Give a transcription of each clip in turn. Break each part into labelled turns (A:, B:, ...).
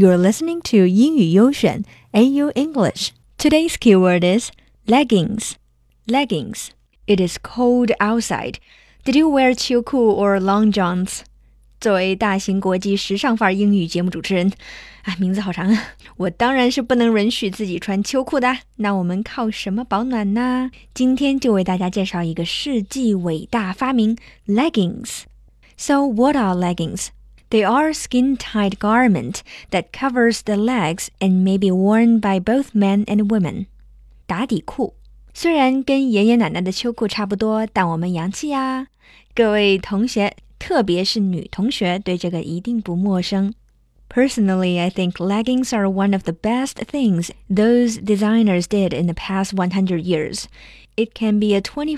A: You're listening to 英语优选 AU English. Today's keyword is leggings. Leggings. It is cold outside. Did you wear 秋裤 or long johns? 作为大型国际时尚范儿英语节目主持人，名字好长啊，我当然是不能允许自己穿秋裤的。那我们靠什么保暖呢？今天就为大家介绍一个世纪伟大发明 leggings. So what are leggings?They are a skin-tight garment that covers the legs and may be worn by both men and women. 打底裤虽然跟爷爷奶奶的秋裤差不多，但我们洋气呀。各位同学，特别是女同学，对这个一定不陌生。Personally, I think leggings are one of the best things those designers did in the past 100 years. It can be a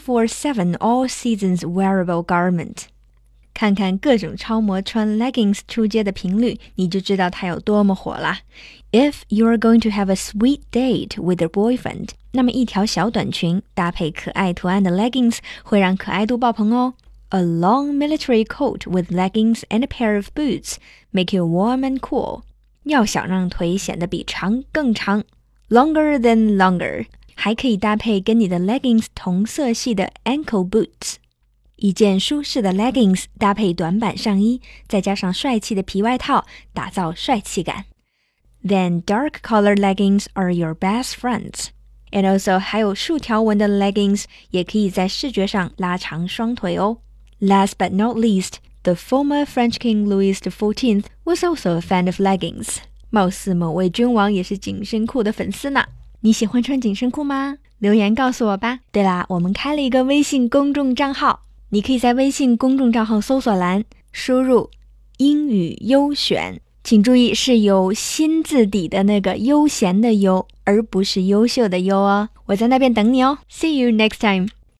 A: 24/7 all seasons wearable garment.看看各种超模穿 leggings 出街的频率，你就知道它有多么火啦。If you're going to have a sweet date with your boyfriend, 那么一条小短裙搭配可爱图案的 leggings 会让可爱度爆棚哦。A long military coat with leggings and a pair of boots make you warm and cool. 要想让腿显得比长更长 ，longer than longer， 还可以搭配跟你的 leggings 同色系的 ankle boots。一件舒适的 leggings 搭配短版上衣，再加上帅气的皮外套，打造帅气感。Then dark colored leggings are your best friends. And also 还有竖条纹的 leggings 也可以在视觉上拉长双腿哦。Last but not least, the former French King Louis XIV was also a fan of leggings. 貌似某位君王也是紧身裤的粉丝呢。你喜欢穿紧身裤吗？留言告诉我吧。对啦，我们开了一个微信公众账号。你可以在微信公众账号搜索栏输入英语优选，请注意是有心字底的那个悠闲的悠，而不是优秀的优哦。我在那边等你哦。See you next time.